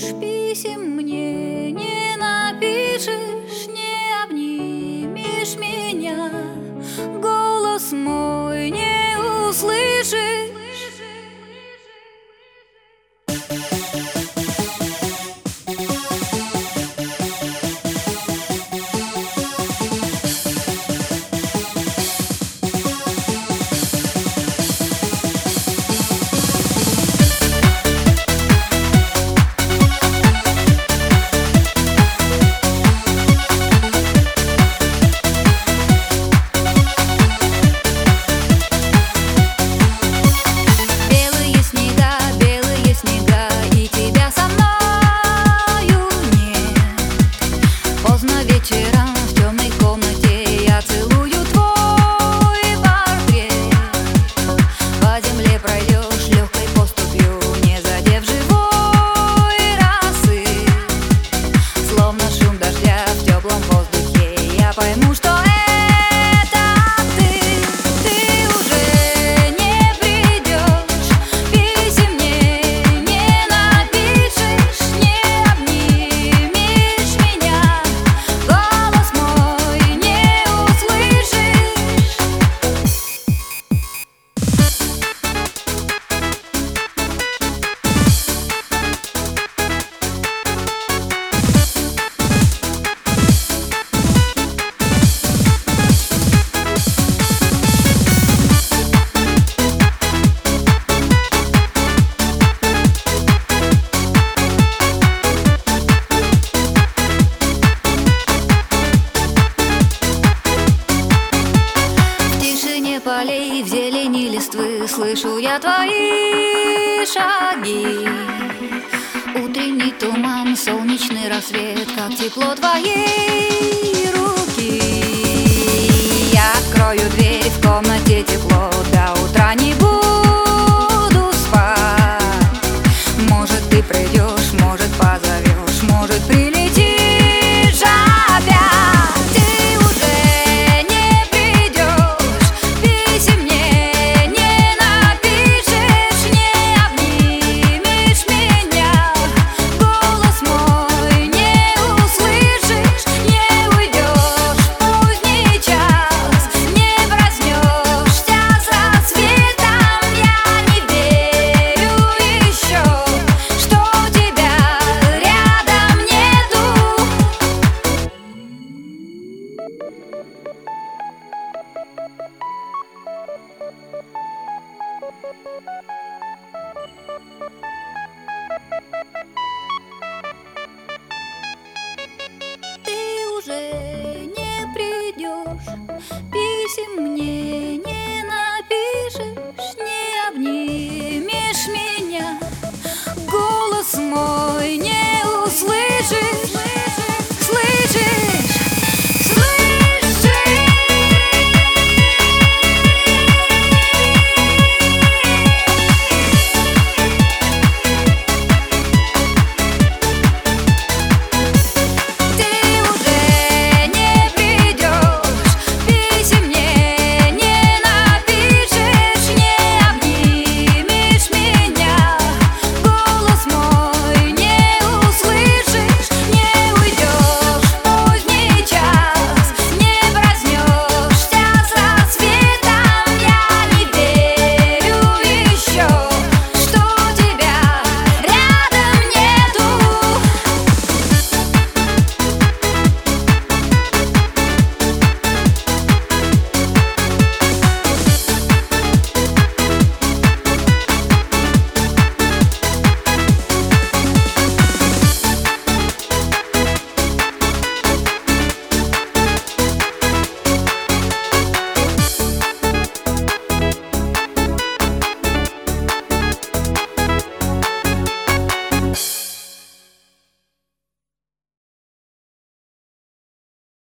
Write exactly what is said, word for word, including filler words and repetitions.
писем мне не напишешь, не обнимешь меня, голос мой не услышишь. Вечером в темной комнате я целую твой портрет. По земле пройдешь легкой поступью, не задев живой росы. Словно шум дождя в теплом воздухе, я пойму, что это ты. Ты уже не придешь, писем мне не напишешь, не обнимешь меня, голос мой не услышишь. Полей, в зелени листвы слышу я твои шаги. Утренний туман, солнечный рассвет, как тепло твоей руки. Я открою дверь, в комнате тепло, до утра не буду спать. Может, ты придешь, может, позовешь, может, прилетишь опять.